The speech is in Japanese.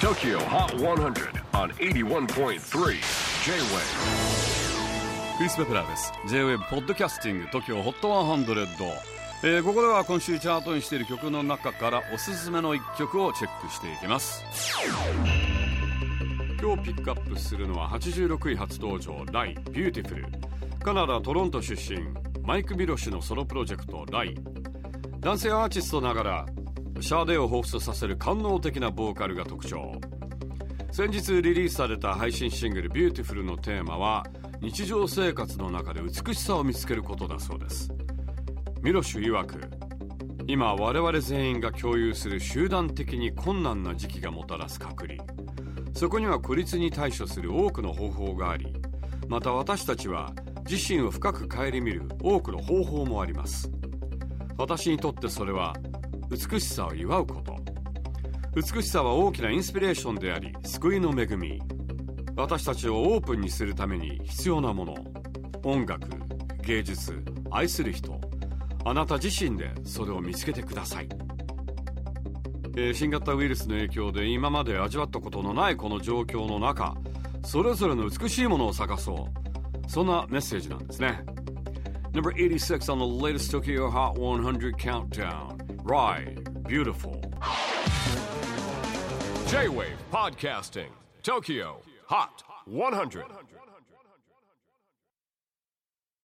TOKYO HOT 100 on 81.3 J-WAVE クリス・ベプラーです。 J-WAVE ポッドキャスティング TOKYO HOT 100、ここでは今週チャートにしている曲の中からおすすめの一曲をチェックしていきます。今日ピックアップするのは86位初登場ライ・ビューティフル。カナダ・トロント出身マイク・ビロシュのソロプロジェクトライ。男性アーティストながらシャーデを彷彿とさせる官能的なボーカルが特徴。先日リリースされた配信シングルビューティフルのテーマは日常生活の中で美しさを見つけることだそうです。ミロシュ曰く、今我々全員が共有する集団的に困難な時期がもたらす隔離、そこには孤立に対処する多くの方法があり、また私たちは自身を深く顧みる多くの方法もあります。私にとってそれは美しさを祝うこと。美しさは大きなインスピレーションであり救いの恵み。私たちをオープンにするために必要なもの、音楽、芸術、愛する人、あなた自身でそれを見つけてください。新型ウイルスの影響で今まで味わったことのないこの状況の中、それぞれの美しいものを探そう、そんなメッセージなんですね。Number 86 on the latest Tokyo Hot 100 countdown. Rai, Beautiful. J-WAVE PODCASTING TOKYO HOT 100